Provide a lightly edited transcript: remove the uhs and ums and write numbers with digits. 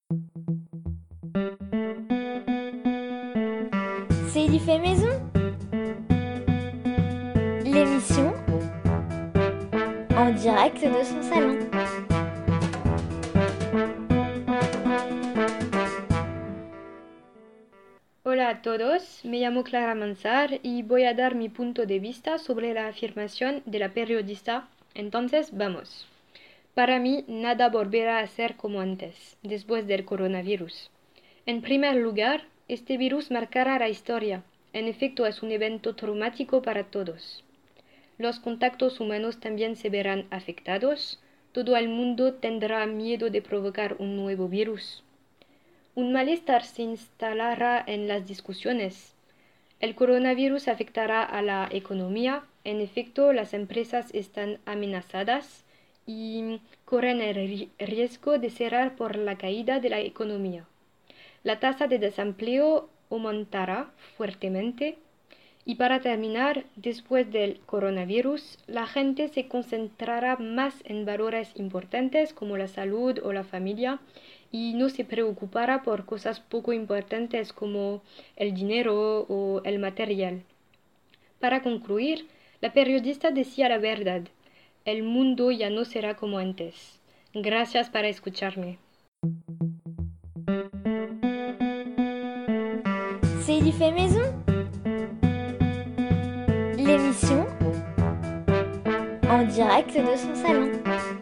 C'est Il y fait maison, l'émission en direct de son salon. Hola a todos, me llamo Clara Mansar y voy a dar mi punto de vista sobre la afirmación de la periodista. Entonces, vamos. Para mí, nada volverá a ser como antes, después del coronavirus. En primer lugar, este virus marcará la historia. En efecto, es un evento traumático para todos. Los contactos humanos también se verán afectados. Todo el mundo tendrá miedo de provocar un nuevo virus. Un malestar se instalará en las discusiones. El coronavirus afectará a la economía. En efecto, las empresas están amenazadas y corren el riesgo de cerrar por la caída de la economía. La tasa de desempleo aumentará fuertemente. Y para terminar, después del coronavirus, la gente se concentrará más en valores importantes como la salud o la familia y no se preocupará por cosas poco importantes como el dinero o el material. Para concluir, la periodista decía la verdad. El mundo ya no será como antes. Gracias por escucharme. C'est Il y fait maison, l'émission en direct de son salon.